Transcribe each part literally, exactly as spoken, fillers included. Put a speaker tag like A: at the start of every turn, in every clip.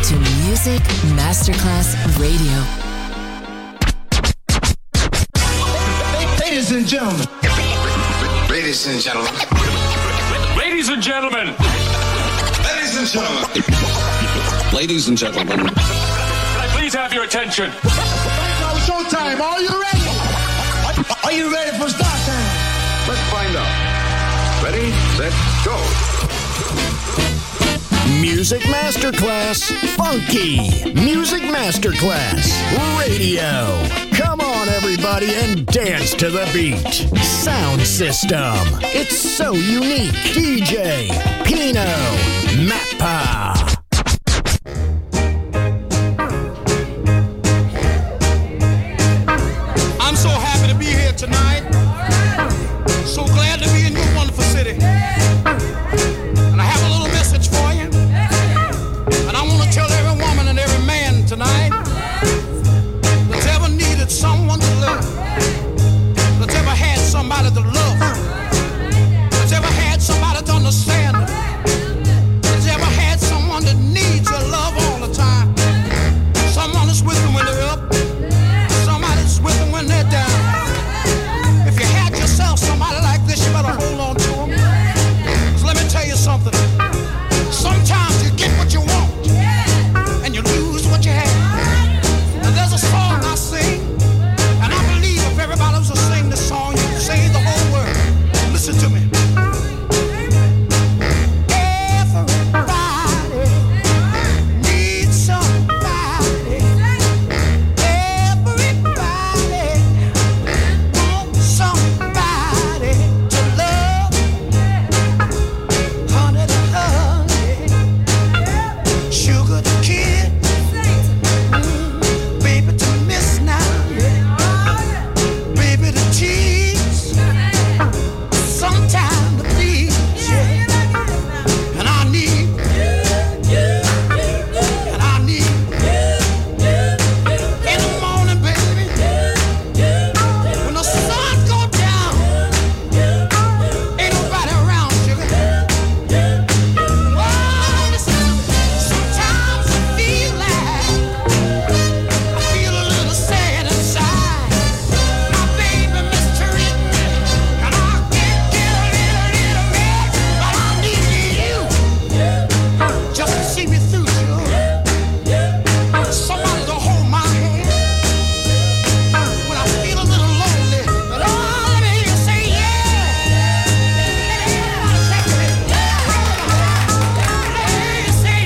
A: to Music Masterclass Radio.
B: Ladies and gentlemen.
C: Ladies and gentlemen.
D: Ladies and gentlemen.
C: Ladies and gentlemen. Ladies and gentlemen.
D: Can I please have your attention?
B: Now it's showtime. Are you ready? Are you ready for start time?
C: Let's find out. Ready, set, go.
E: Music Masterclass Funky. Music Masterclass Radio. Come on, everybody, and dance to the beat. Sound system. It's so unique. D J Pino Mappa.
F: I'm so happy to be here tonight. So glad to be in your wonderful city. And I have a little message for you. And I want to tell every woman and every man tonight that's ever needed someone to love, that's ever had somebody to love, that's ever had somebody to understand, that's ever had someone that needs your love all the time. Someone that's with them when they're up, somebody that's with them when they're down. If you had yourself somebody like this, you better hold on to them. 'Cause let me tell you something. Sometimes you get what you want and you lose what you have. And there's a song I sing, and I believe if everybody was to sing this song, you could save the whole world. Listen to me. Everybody needs somebody. Everybody wants somebody to love. Honey to honey, sugar to kid, mm, baby to miss now, baby to tease, sometime to please, yeah. And I need, and I need, in the morning, baby, when the sun go down, ain't nobody around, sugar. Oh, listen, sometimes I feel like, I feel a little sad inside. My baby mistreating me, and I can't get a little, little mad, but I need you just to see me through, sugar. Somebody to hold my hand when I feel a little lonely. But oh, let me hear you say yeah. Let me hear you say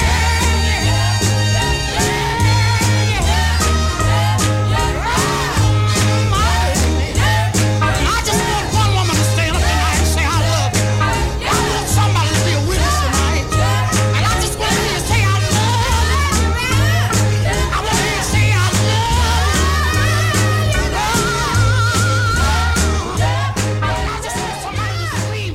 F: I just want one woman to stand up tonight and say I love you. I want somebody to be a witness tonight. And I just want to hear you say I love you. I want to hear you say I love you. I just want somebody to scream.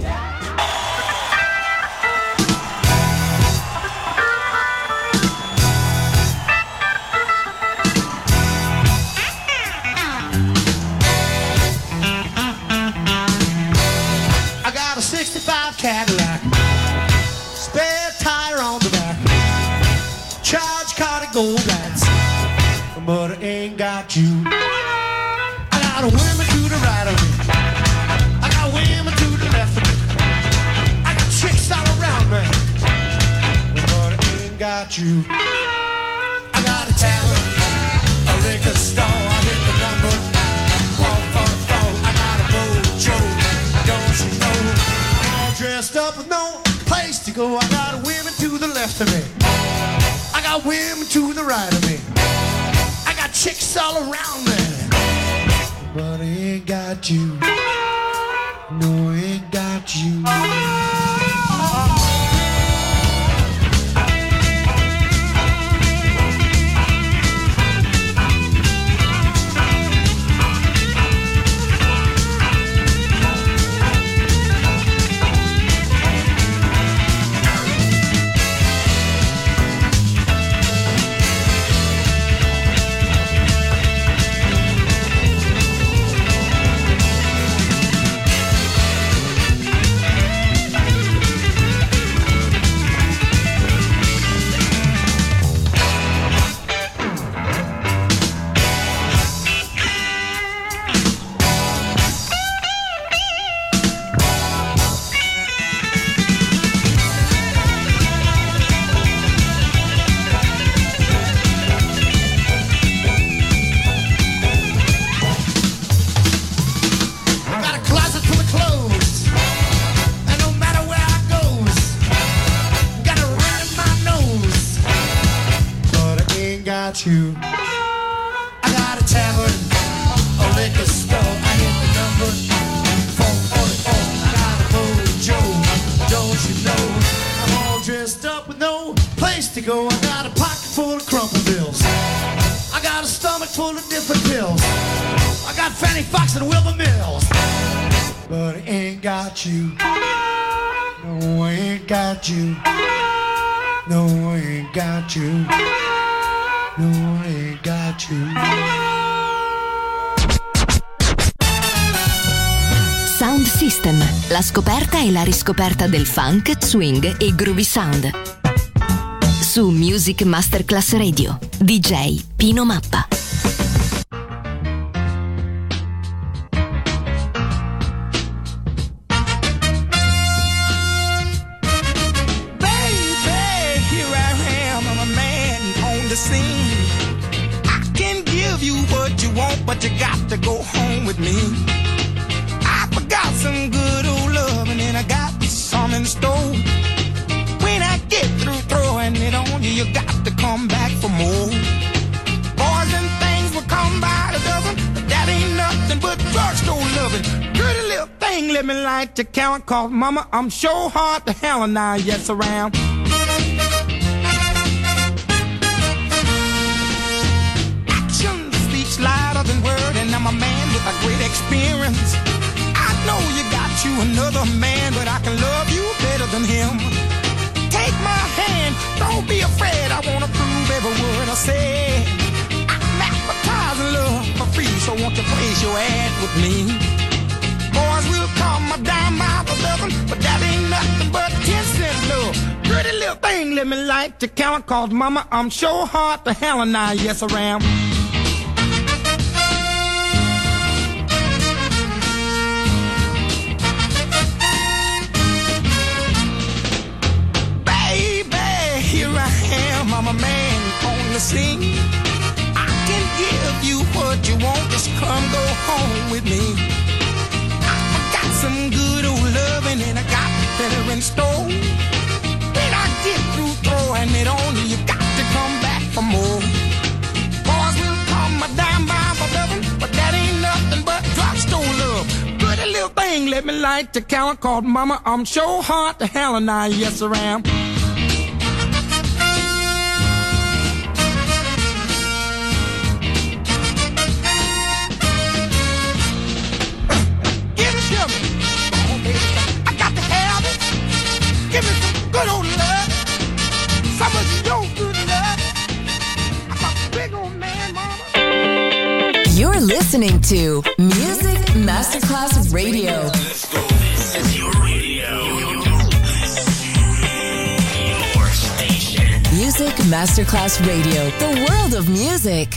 F: I got a sixty-five Cadillac, spare tire on the back, charge card of gold lights, but I ain't got you. I got women to the right of me, I got women to the left of me, I got chicks all around me, but I ain't got you. I got a tavern, a liquor store, I hit the number nine, four four four. I got a mojo, don't you know? I'm all dressed up with no place to go. I got women to the left of me, I got women to the right of me, I got chicks all around me, but I ain't got you. No, I ain't got you.
G: got you. I got a tavern, a liquor store. I hit the number four forty-four. I got a mojo, don't you know? I'm all dressed up with no place to go. I got a pocket full of crumple bills. I got a stomach full of different pills. I got Fanny Fox and Wilbur Mills. But I ain't got you. No, I ain't got you. No, I ain't got you. No, I ain't got you.
A: Sound System, la scoperta e la riscoperta del funk, swing e groovy sound. Su Music Masterclass Radio, D J Pino Mappa.
F: But you got to go home with me. I forgot some good old love, and then I got some in store. When I get through throwing it on you, you got to come back for more. Boys and things will come by the dozen, but that ain't nothing but drugstore loving. Pretty little thing, let me light your count, cause mama, I'm sure hard to hell and I yes around. Lighter than word, and I'm a man with a great experience. I know you got you another man, but I can love you better than him. Take my hand, don't be afraid. I wanna prove every word I say. I'm advertising love for free, so won't you place your ad with me? Boys will come a dime by the dozen, but that ain't nothing but ten cent love. Pretty little thing, let me light the count, cause mama, I'm sure hard to hell and I yes around. I'm a man on the scene. I can give you what you want. Just come go home with me. I got some good old loving and I got better in store. When I get through throwing it on you, you got to come back for more. Boys will come a dime by the dozen, but that ain't nothing but drugstore love. Pretty little thing, let me light the count, called mama, I'm sure hard to hell and I yes around. Give me some good old love. Some of your good love. I'm a big old man, mama.
A: You're listening to Music Masterclass Radio.
E: Let's go. This is your radio. Your station.
A: Music Masterclass Radio. The world of music.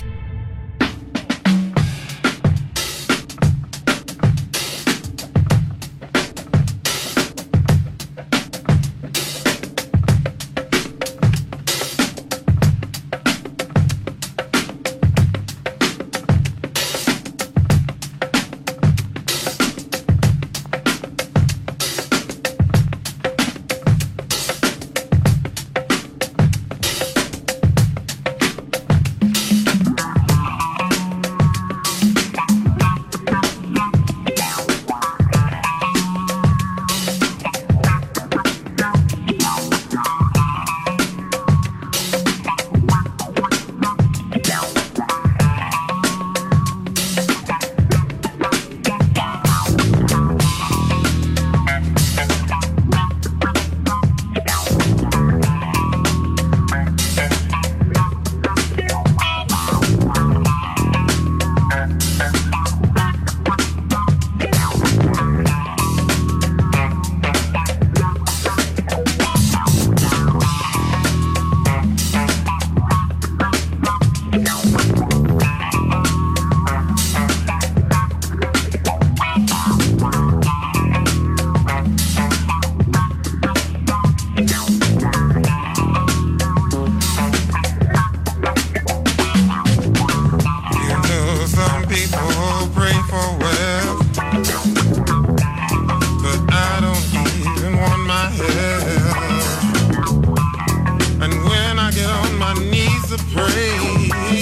H: to pray.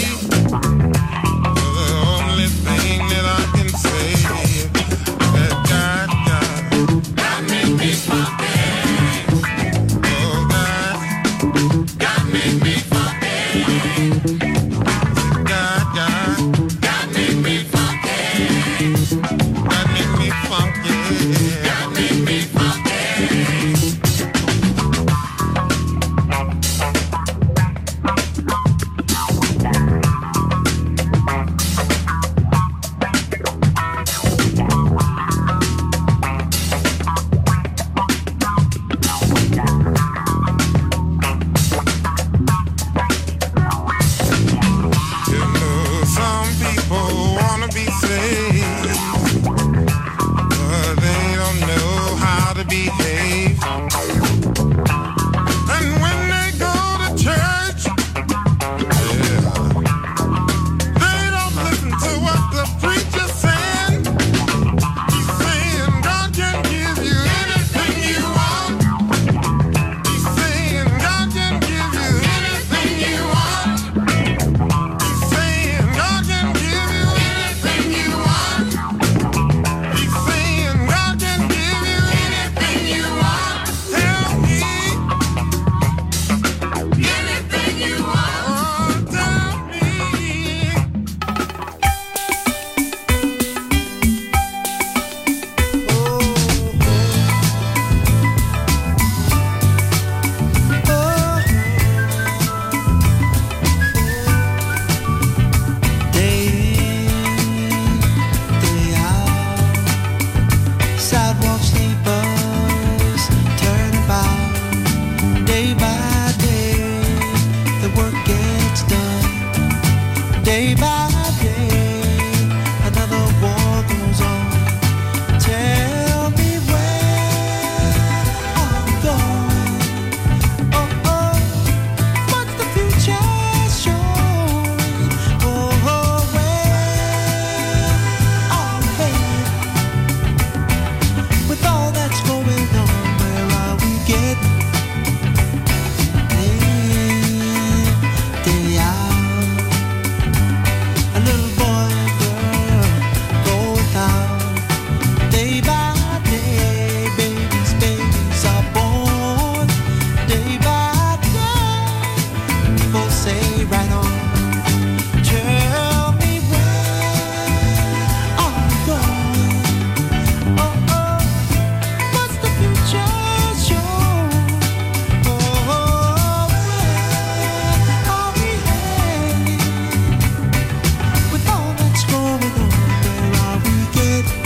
G: day by day. People say right on. Tell me where are we going? Oh, oh, what's the future show? Oh, where are we heading? With all that's going on, where are we getting?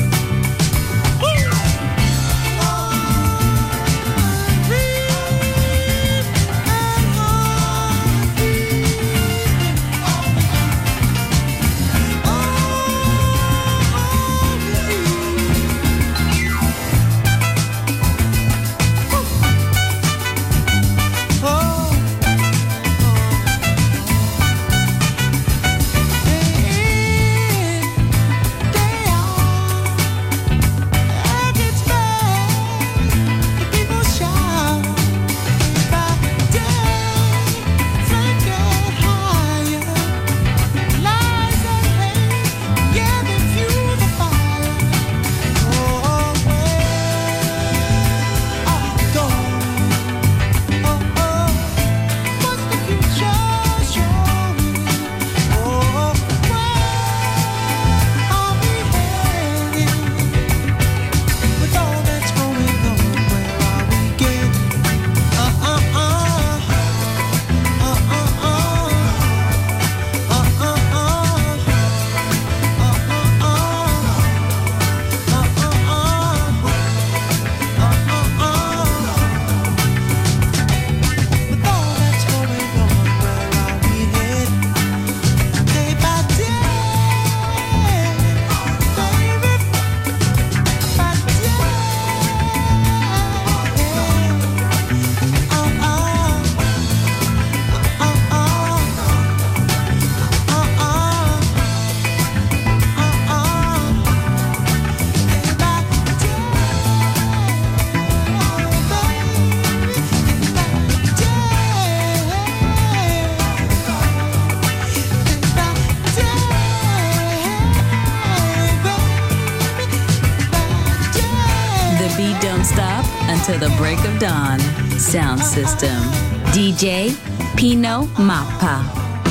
H: To the break of dawn. Sound system. D J Pino Mappa.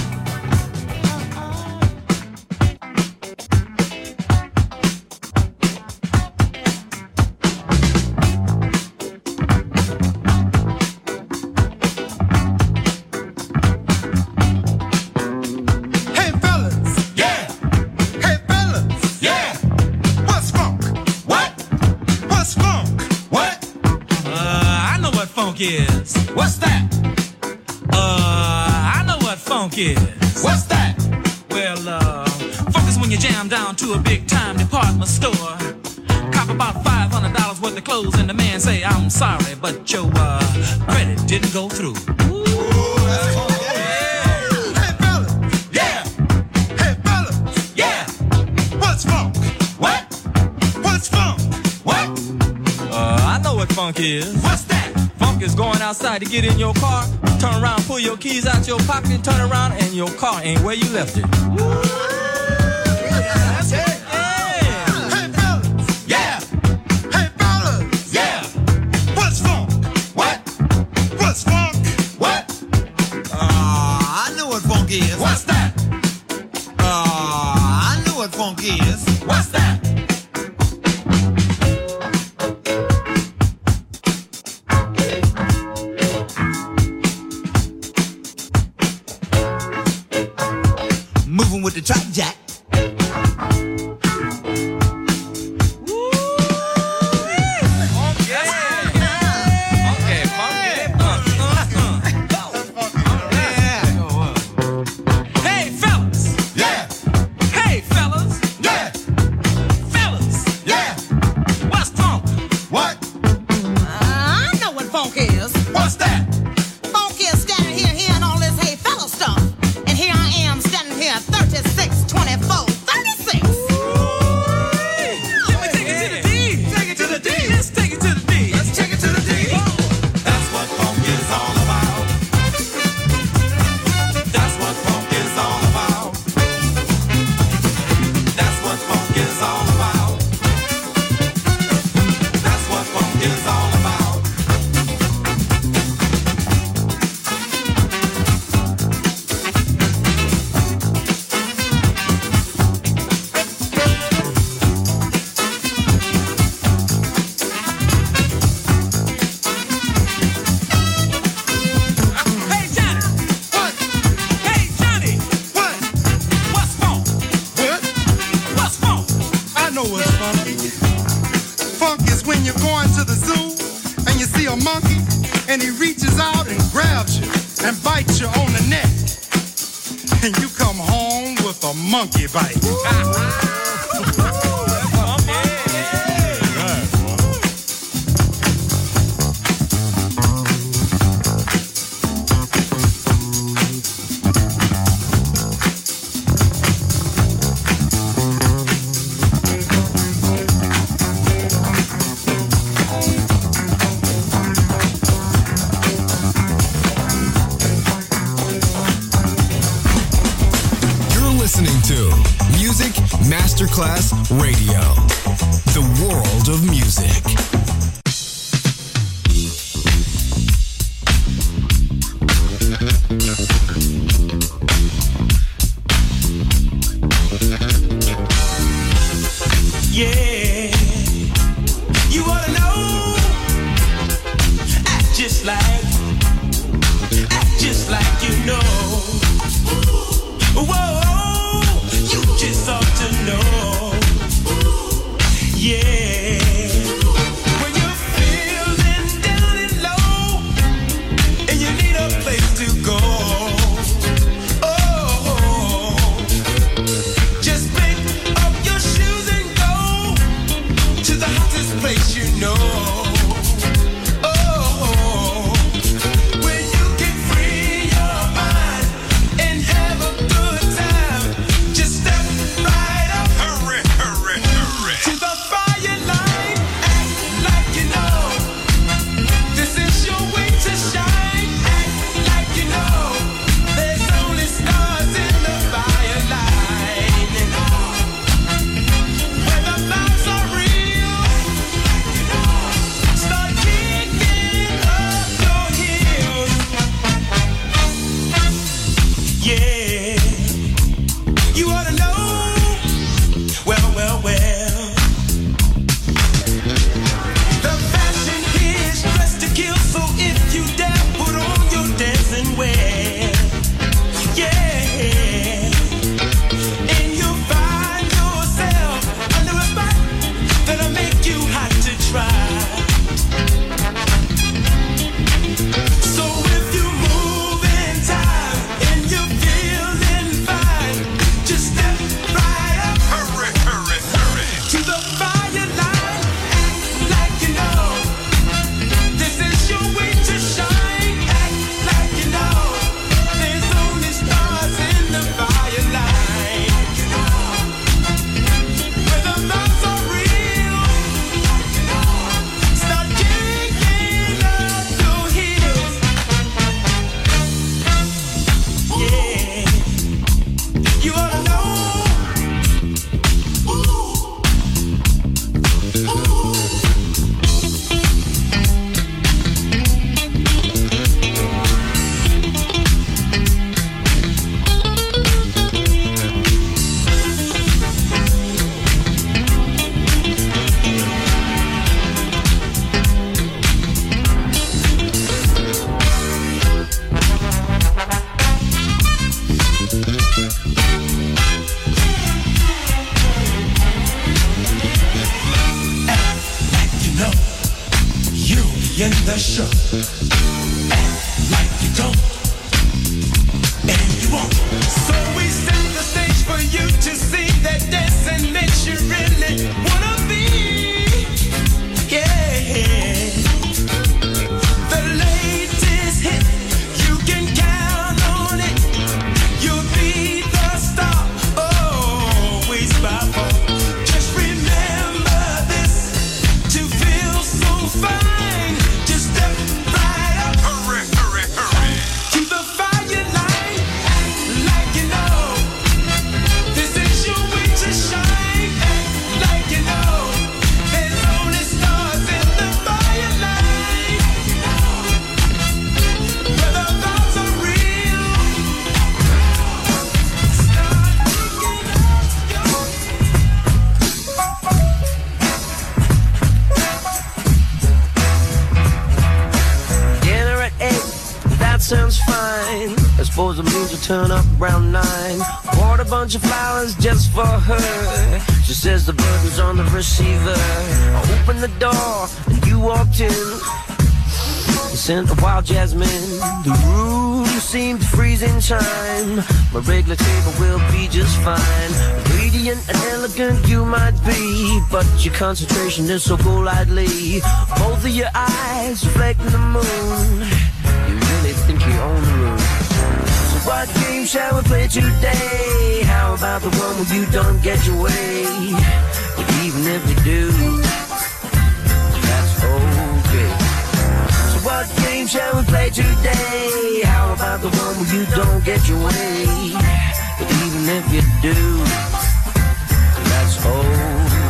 I: Is. What's that? Uh, I know what funk is. What's that? Well, uh, funk is when you jam down to a big time department store, cop about five hundred dollars worth of clothes, and the man say, I'm sorry, but your uh, credit didn't go through. Ooh, that's funk. Yeah. Hey, fellas. Yeah. Hey, fellas. Yeah. What's funk? What? What's funk? What? Uh, I know what funk is. What's that? Funk is going outside to get in your car, turn around, pull your keys out your pocket, turn around, and your car ain't where you left it. Woo! That's it. Yeah. Hey, fellas. Yeah. Hey, fellas. Yeah. What's funk? What? What's funk? What? Uh, I know what funk is. What's that? Uh, I know what funk is. What's that? With the track jack.
F: and he reaches out and grabs you and bites you on the neck. And you come home with a monkey bite.
J: Masterclass Radio, the world of music.
G: Yeah, you wanna know? Act just like, act just like you know. Whoa. Just ought to know, yeah. When you're feeling down and low, and you need a place to go, oh, just pick up your shoes and go to the hottest place you know. Oh, when you can free your mind and have a good time, just step right up, hurry, hurry, hurry, to the fire line. Act like you know this is your way to shine. Act like you know there's only stars in the fire line. Where the vibes are real, start kicking up your heels. Yeah, you ought to know. Well, well, well. The fashion is dressed to kill, so if you dare, put on your dancing wear. Yeah. And you'll find yourself under a spot that'll make you hot to try. So if you move in time and you're feeling fine, just step right up, hurry, hurry, hurry, to the fire line. Act like you know this is your way to shine. Act like you know there's only stars in the fire line. Where the vibes are real, start kicking up your heels. Yeah, you ought to know. Act like you know you'll be in the show. Act like you don't, and you won't. So we set the stage for you to see that dancing makes you really wanna be. Yeah, the latest hit, you can count on it. You'll be the star, always by far. Just remember this, to feel so fine, just step right up, hurry, hurry, hurry, to the fire line. Act like you know this is your way to shine. Act like you know there's only stars in the fire line. Where the vibes are real, start kicking up your
K: Dinner at eight, that sounds fine. I suppose it means you turn up around nine. Bought a bunch of flowers just for her. She says the burden's on the receiver. I opened the door and you walked in. the scent of wild jasmine. The room seemed to freeze in time. My regular table will be just fine. Radiant and elegant you might be, but your concentration is so golightly. Both of your eyes reflecting the moon. You really think you own the room. So what game shall we play today? How about the one where you don't get your way? But even if you do, that's okay. So what game shall we play today? How about the one where you don't get your way? But even if you do, that's okay.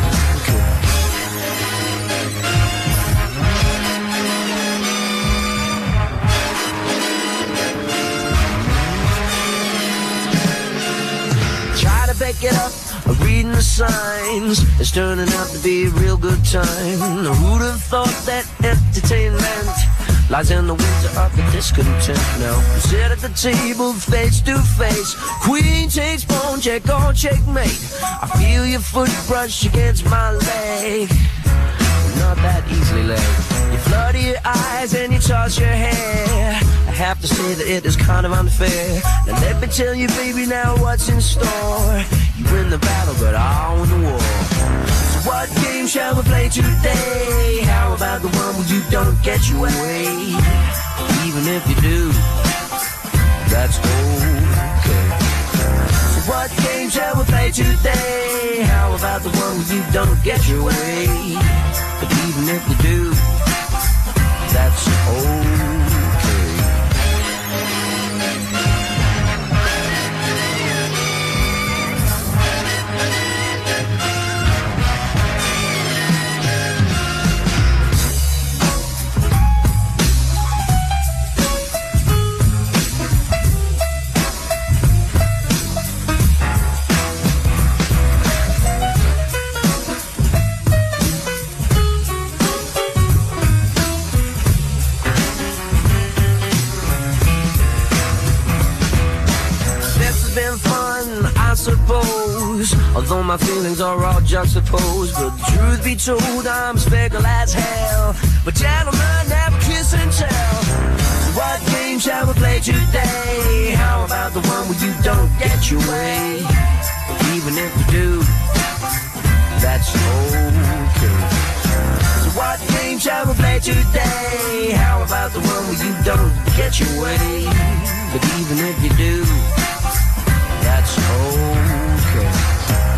K: Try to pick it up, reading the signs. It's turning out to be a real good time. Who'd have thought that entertainment lies in the winter of the discontent? Now we sit at the table face to face. Queen takes pawn, check or checkmate. I feel your foot brush against my leg. Not that easily laid. You flutter your eyes and you toss your hair. I have to say that it is kind of unfair. Now let me tell you, baby, now what's in store. You win the battle, but I win the war. So what game shall we play today? How about the one where you don't get your way? Even if you do, that's okay. So what game shall we play today? How about the one where you don't get your way? But even if you do, that's okay. Although my feelings are all juxtaposed, but the truth be told, I'm fickle as hell. But gentlemen, never kiss and tell. So what game shall we play today? How about the one where you don't get your way? Even if you do, that's okay. So what game shall we play today? How about the one where you don't get your way? But even if you do, that's okay.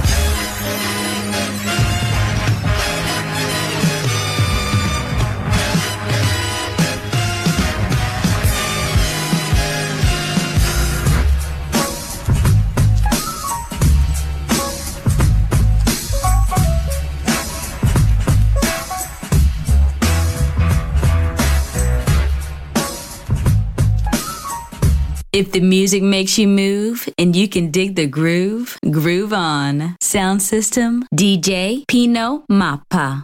H: If the music makes you move and you can dig the groove, groove on. Sound system, D J Pino Mappa.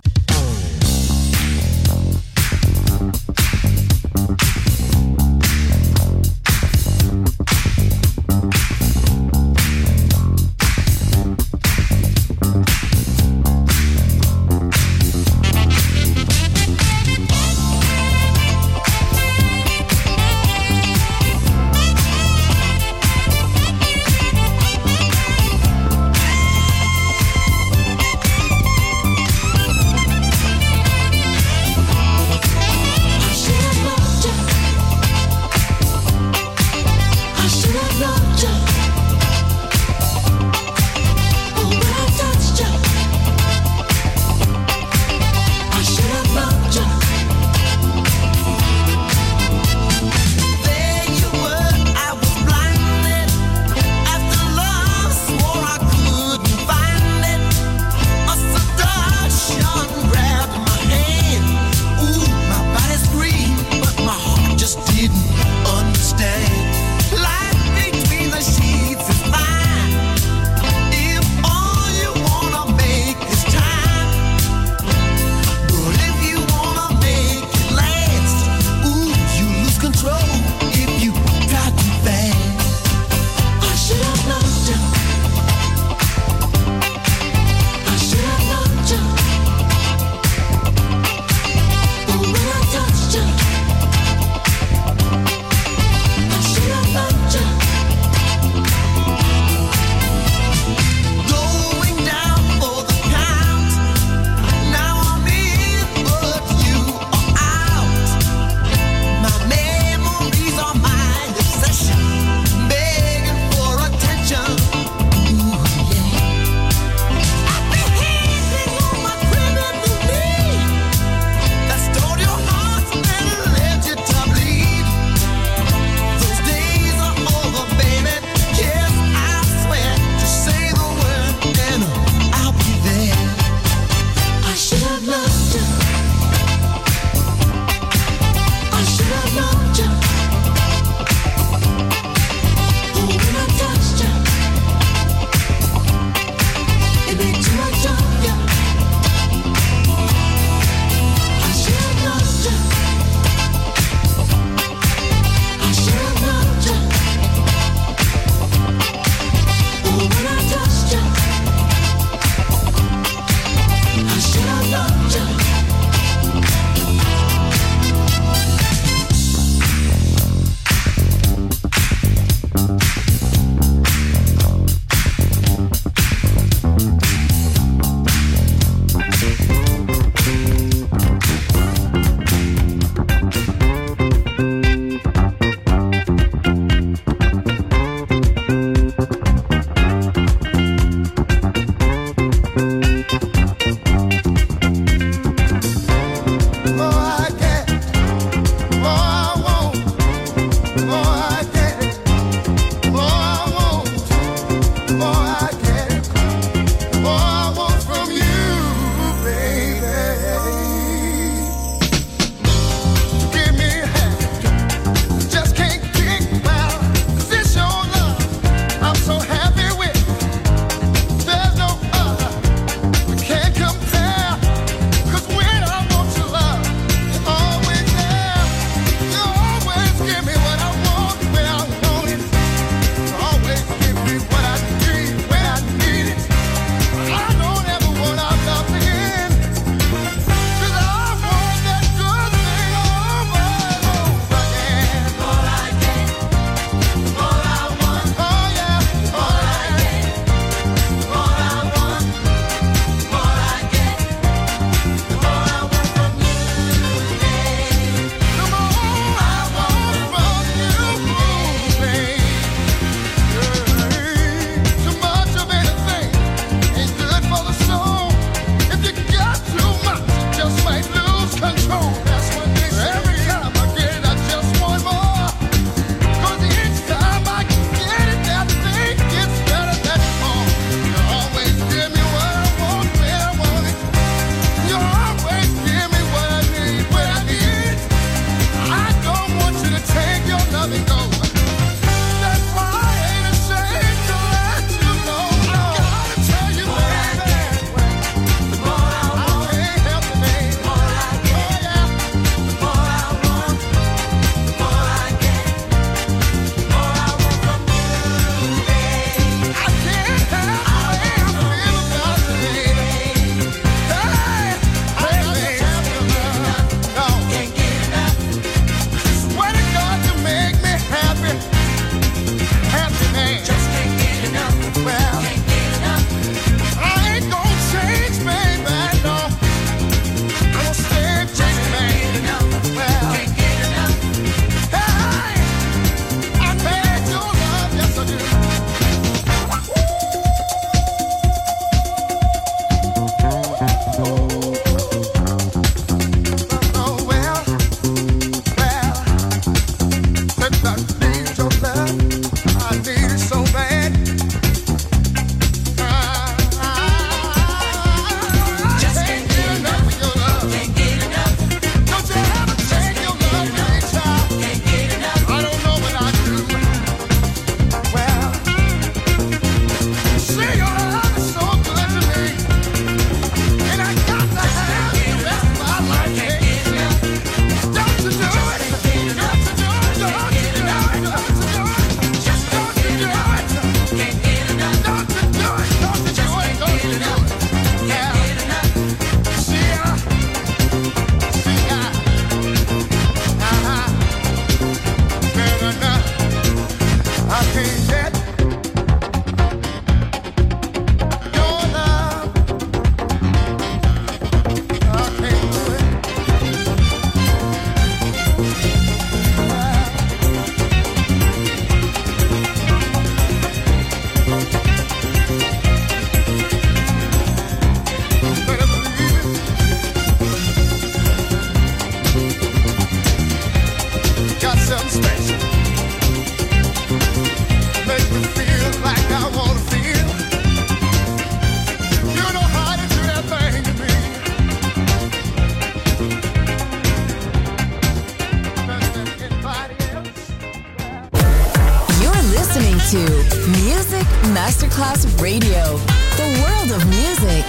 L: listening to Music Masterclass Radio, the world of music.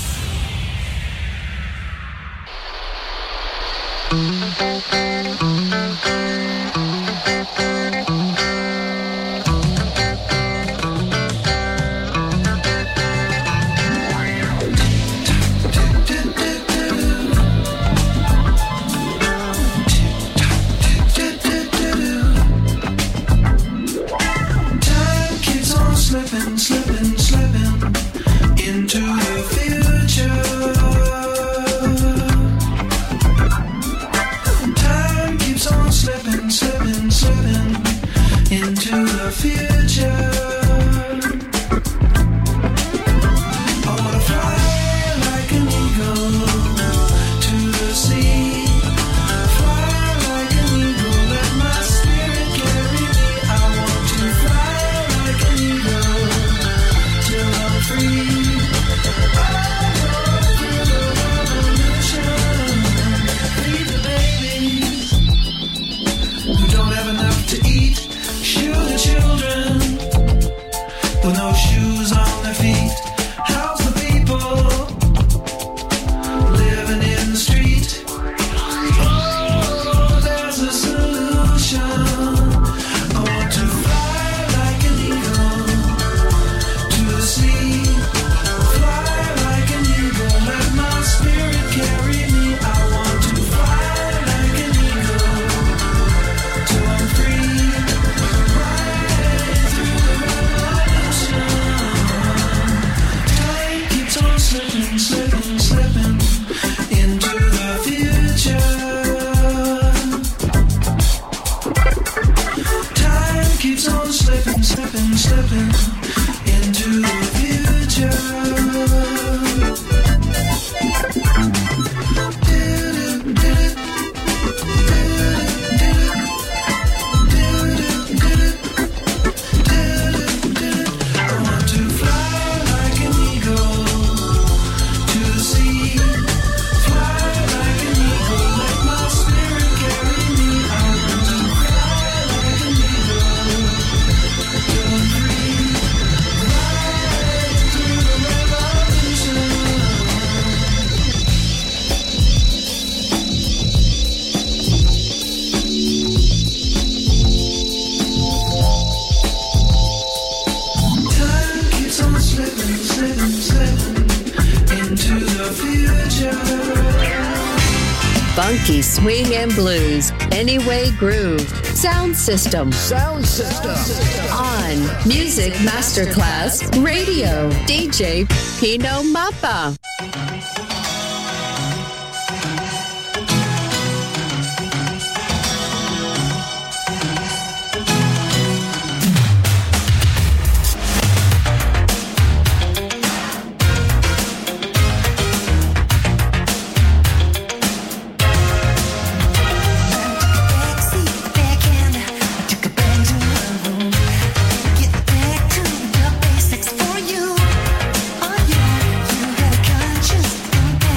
G: Slipping, slipping, slipping into the future. Time keeps on slipping, slipping, slipping into the future. I wanna fly like an eagle to the sea. Fly like an eagle, let my spirit carry me. I want to fly like an eagle till I'm free. I go through the revolution. Feed the babies who don't have enough to eat. Shoe the children with no shoes on their feet. Help the people living in the street. Oh, there's a solution. I want to fly like an eagle to the sea. Fly like an eagle, let my spirit carry me. I want to fly like an eagle till I'm free. Right through the revolution. Time keeps on slipping, slipping, slipping into the future. Time keeps on slipping, slipping, slipping into the future. I want to fly like an eagle to the sea. Fly like an eagle, let my spirit carry me. I want to fly like an eagle till I'm free. Right through the revolution. Time keeps on slipping, slipping, slipping into the future.
A: Funky swing and blues, Anyway Groove, Sound System. Sound System. On Music Masterclass Radio, D J Pino Mappa.
M: Basics for you. Oh yeah, you had a conscience.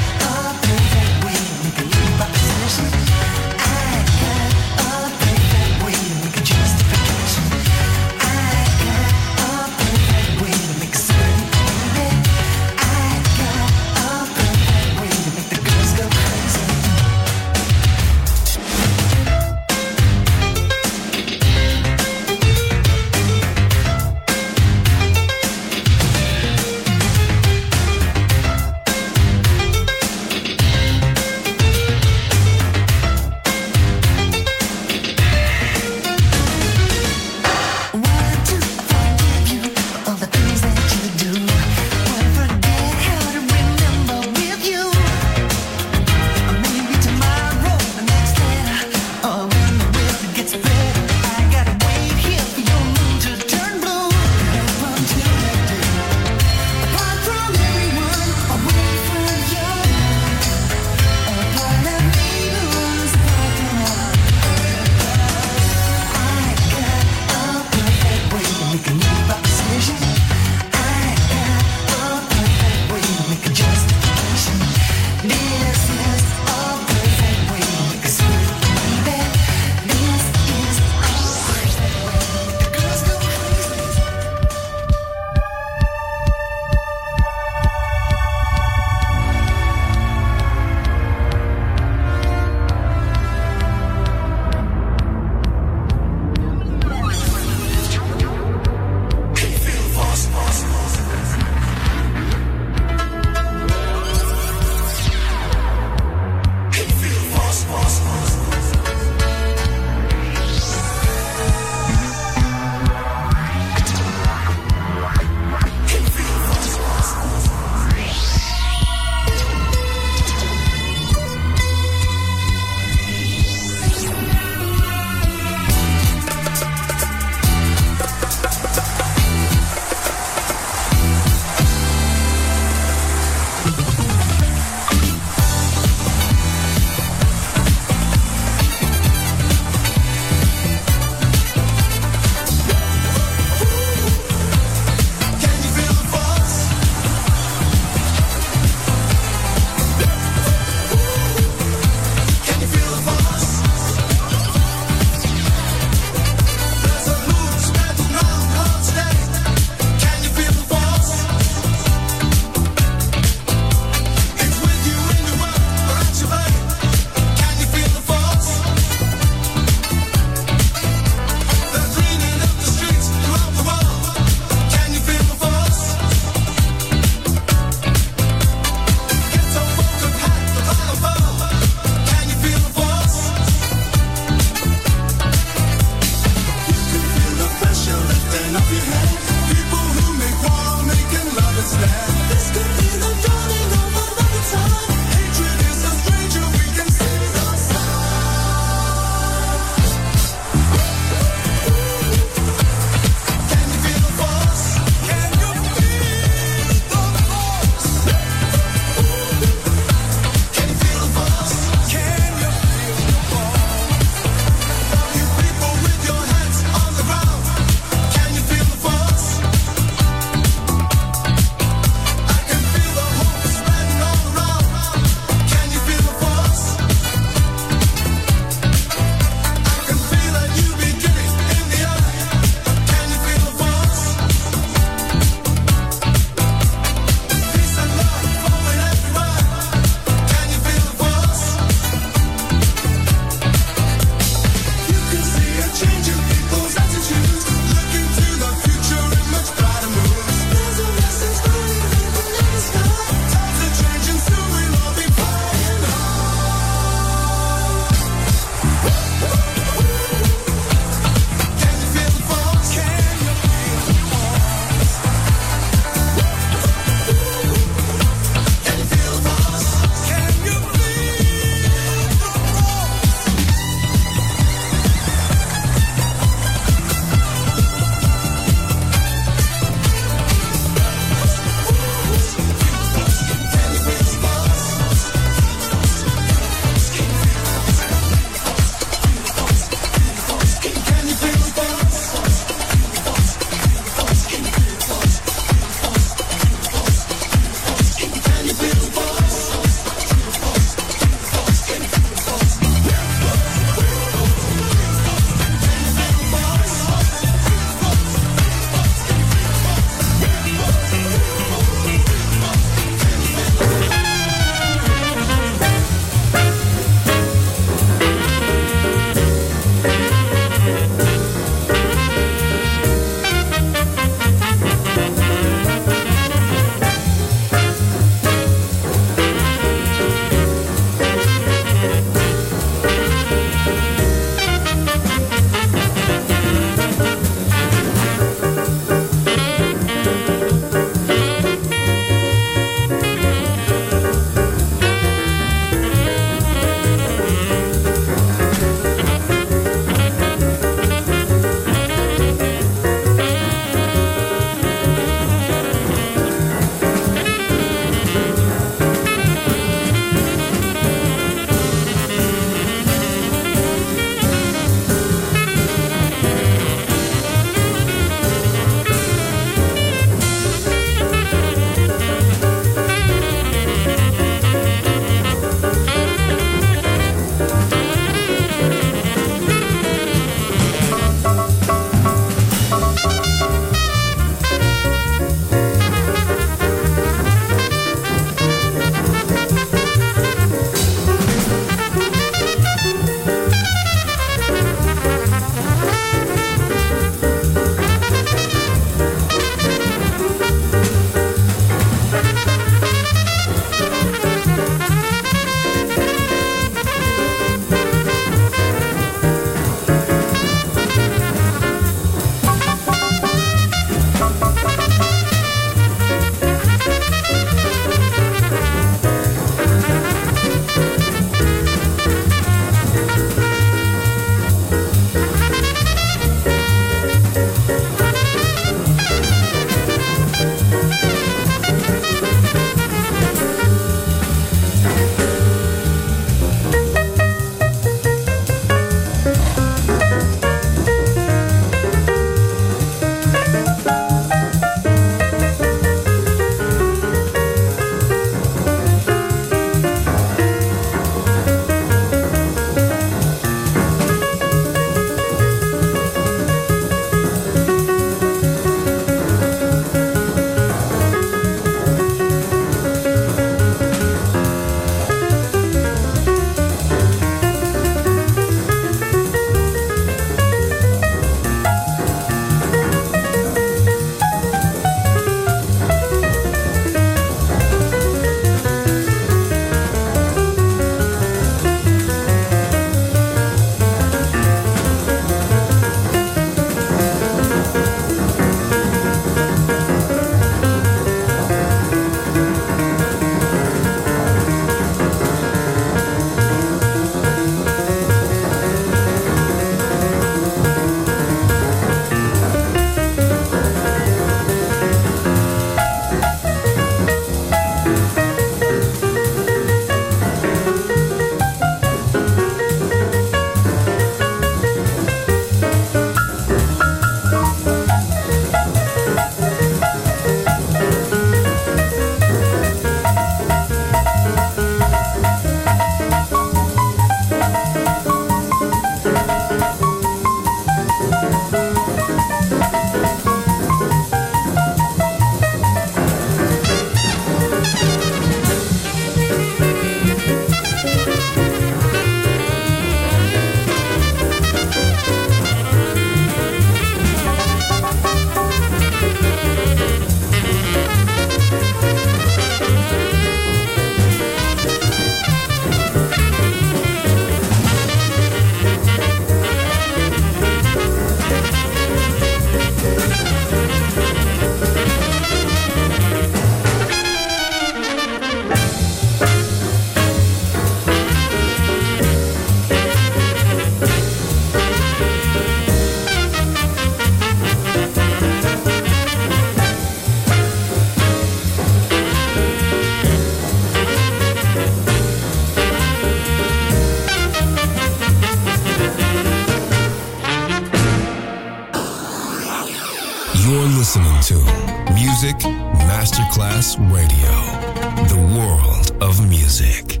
J: listening to Music Masterclass Radio, the world of music.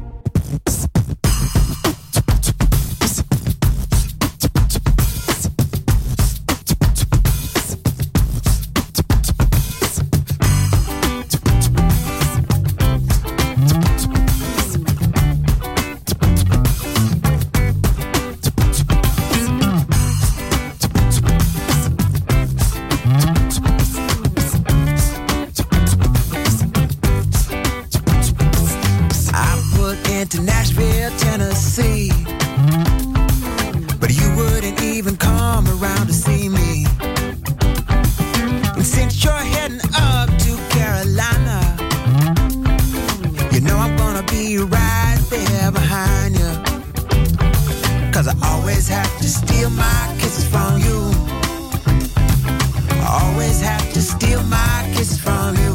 G: To Nashville, Tennessee, but you wouldn't even come around to see me. And since you're heading up to Carolina, you know I'm gonna be right there behind you, 'cause I always have to steal my kisses from you. I always have to steal my kisses from you.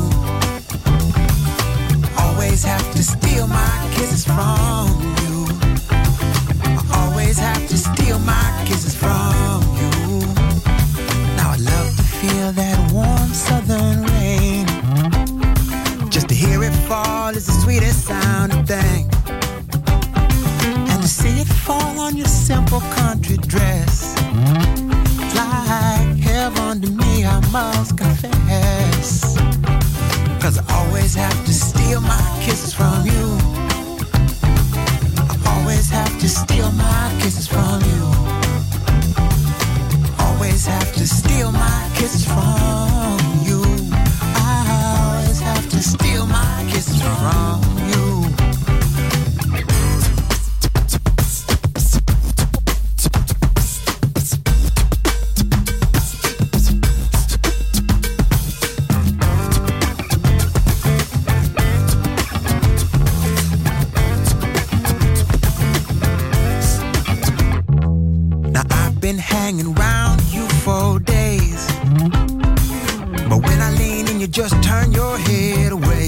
G: Always have to steal my kisses from you. I always have to steal my kisses from you. Now I love to feel that warm southern rain. Just to hear it fall is the sweetest sounding thing. And to see it fall on your simple country dress, it's like heaven to me, I must confess. 'Cause I always have to steal my kisses from you. I always have to steal my kisses from you. Always have to steal my kisses from you. I always have to steal my kisses from you. Been hanging around you for days, but when I lean in, you just turn your head away.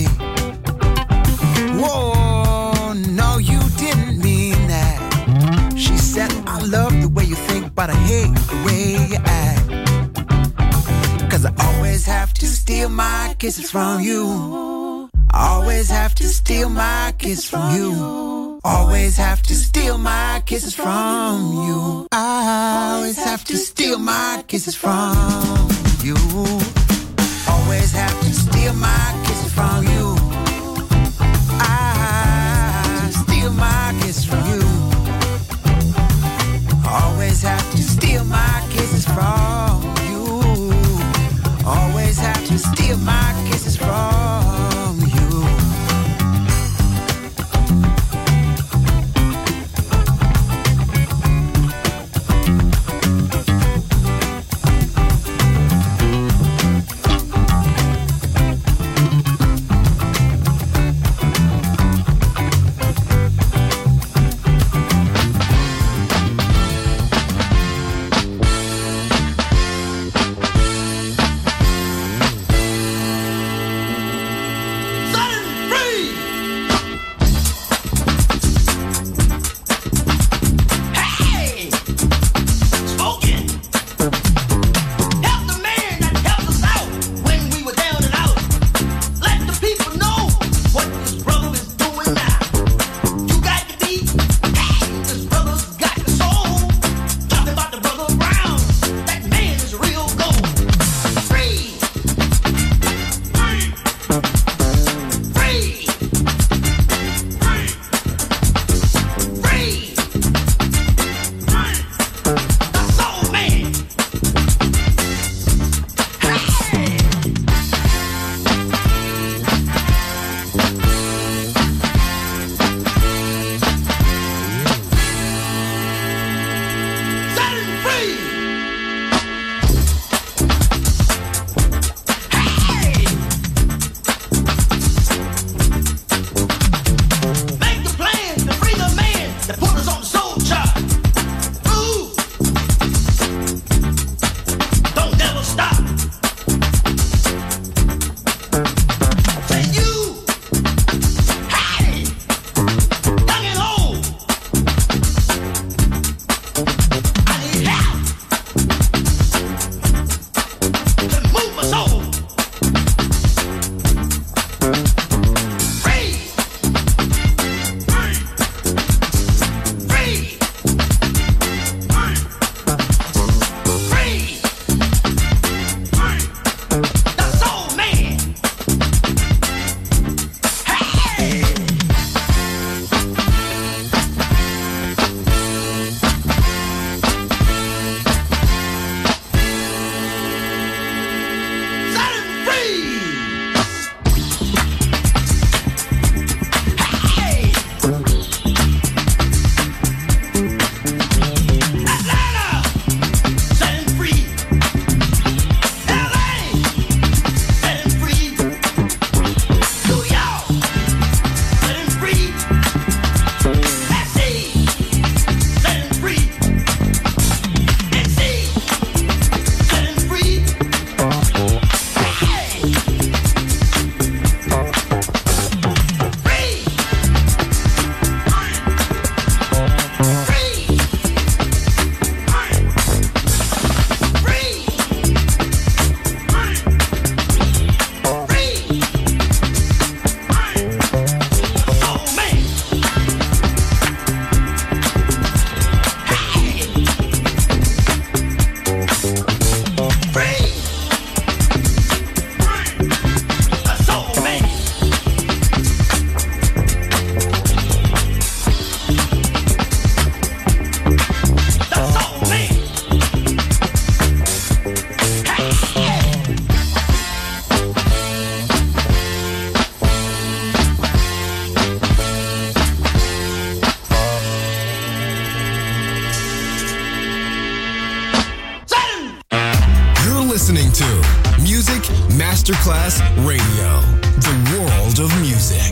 G: Whoa, no, you didn't mean that. She said, I love the way you think, but I hate the way you act. 'Cause I always have to steal my kisses from you. I always have to steal my kisses from you. Always have to steal my kisses from you. I always have to steal my kisses from you. Always have to steal my kisses from you. I steal my kisses from you. Always have to steal my kisses from you. Always have to steal my kisses from you.
J: Listening to Music Masterclass Radio, the world of music.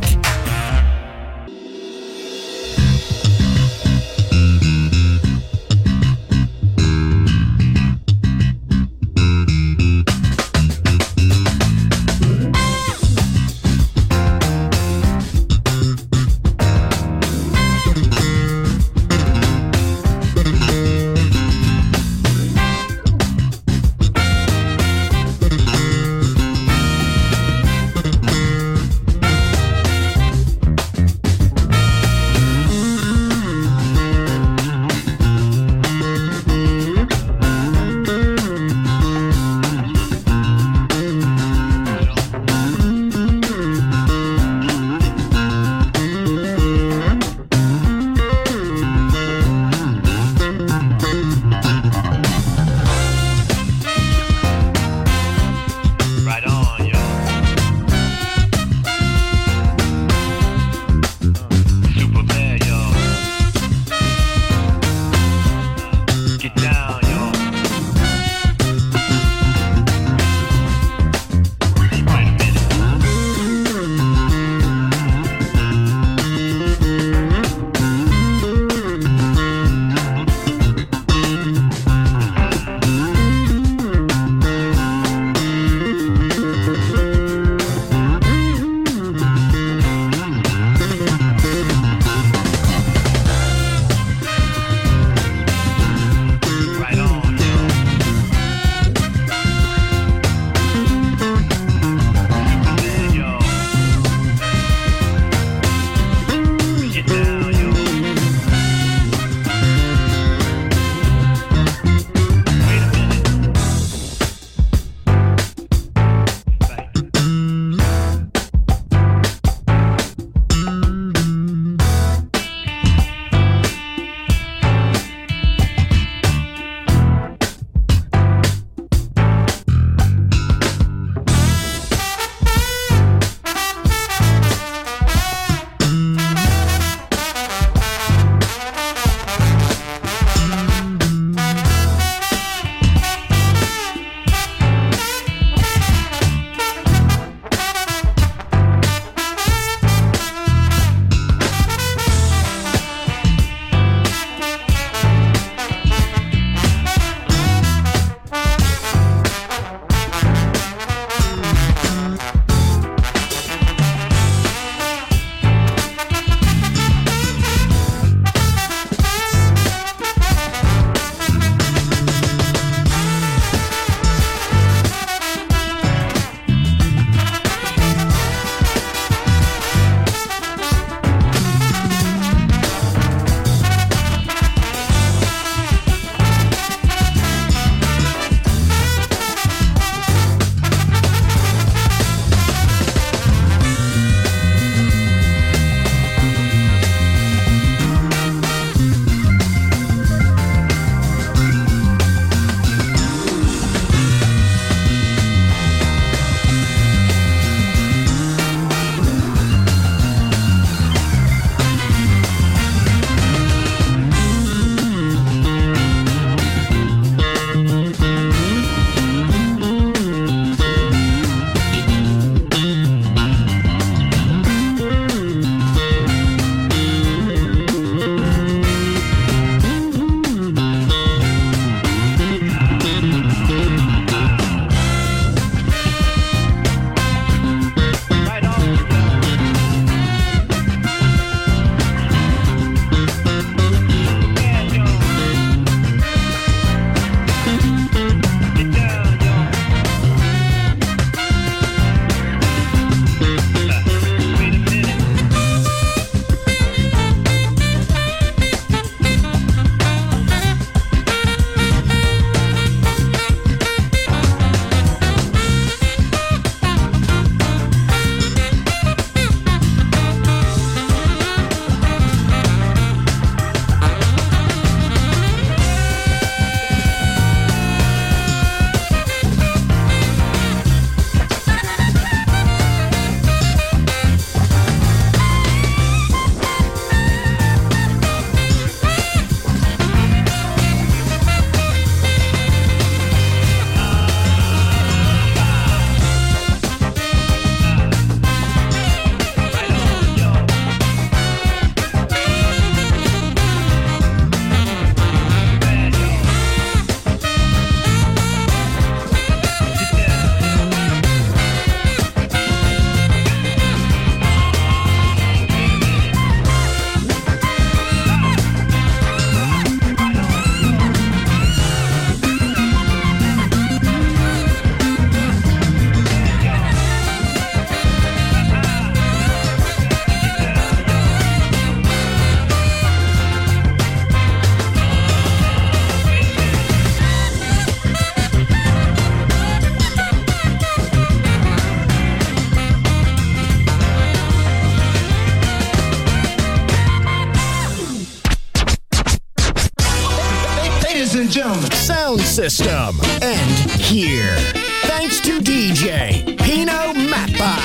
B: gentlemen.
M: Sound system. And here. Thanks to D J Pino Mappa.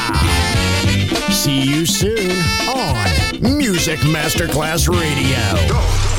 M: See you soon on Music Masterclass Radio.